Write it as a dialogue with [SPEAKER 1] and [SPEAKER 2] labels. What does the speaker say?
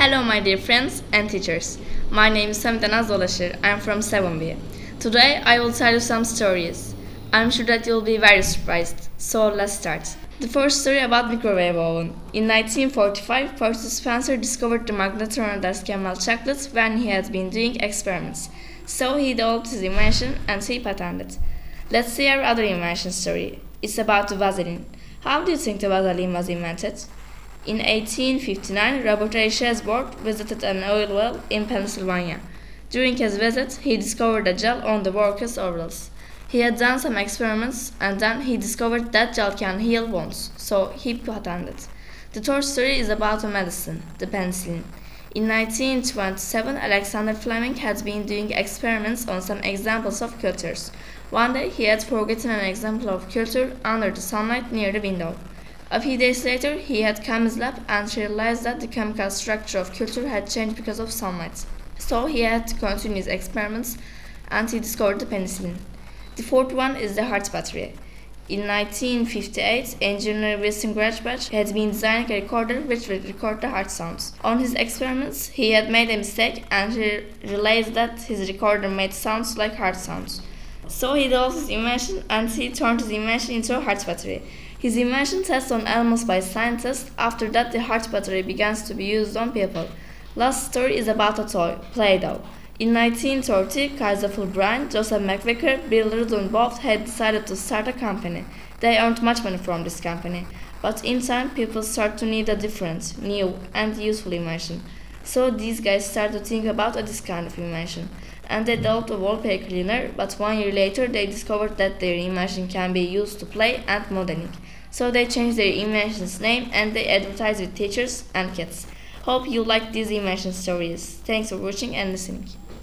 [SPEAKER 1] Hello, my dear friends and teachers. My name is Samita Dolaşır. I'm from 7B. Today, I will tell you some stories. I'm sure that you'll be very surprised. So, let's start. The first story about microwave oven. In 1945, Percy Spencer discovered the magnetron that can melt chocolate when he had been doing experiments. So, he developed his invention and he patented. Let's see our other invention story. It's about the Vaseline. How do you think the Vaseline was invented? In 1859, Robert A. Chesbrougk visited an oil well in Pennsylvania. During his visit, he discovered a gel on the workers' overalls. He had done some experiments and then he discovered that gel can heal wounds, so he patented. The third story is about a medicine, the penicillin. In 1927, Alexander Fleming had been doing experiments on some examples of cultures. One day, he had forgotten an example of culture under the sunlight near the window. A few days later, he had come his lab and realized that the chemical structure of culture had changed because of sunlight. So he had to continue his experiments and he discovered the penicillin. The fourth one is the heart battery. In 1958, engineer Wilson Grachbach had been designing a recorder which would record the heart sounds. On his experiments, he had made a mistake and he realized that his recorder made sounds like heart sounds. So he developed his invention and he turned his invention into a heart battery. His invention tested on animals by scientists. After that, the heart battery began to be used on people. Last story is about a toy, Play-Doh. In 1930, Kaiser Fulbright, Joseph McVicker, Bill Rudin both had decided to start a company. They earned much money from this company. But in time, people started to need a different, new, and useful invention. So these guys started to think about this kind of invention. And they developed a wallpaper cleaner, but 1 year later they discovered that their invention can be used to play and modeling. So they changed their invention's name and they advertised with teachers and kids. Hope you like these invention stories. Thanks for watching and listening.